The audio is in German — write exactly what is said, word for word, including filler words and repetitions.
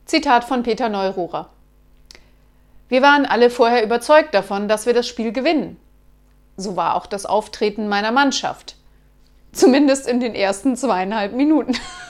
Zitat von Peter Neururer. Wir waren alle vorher überzeugt davon, dass wir das Spiel gewinnen. So war auch das Auftreten meiner Mannschaft. Zumindest in den ersten zweieinhalb Minuten.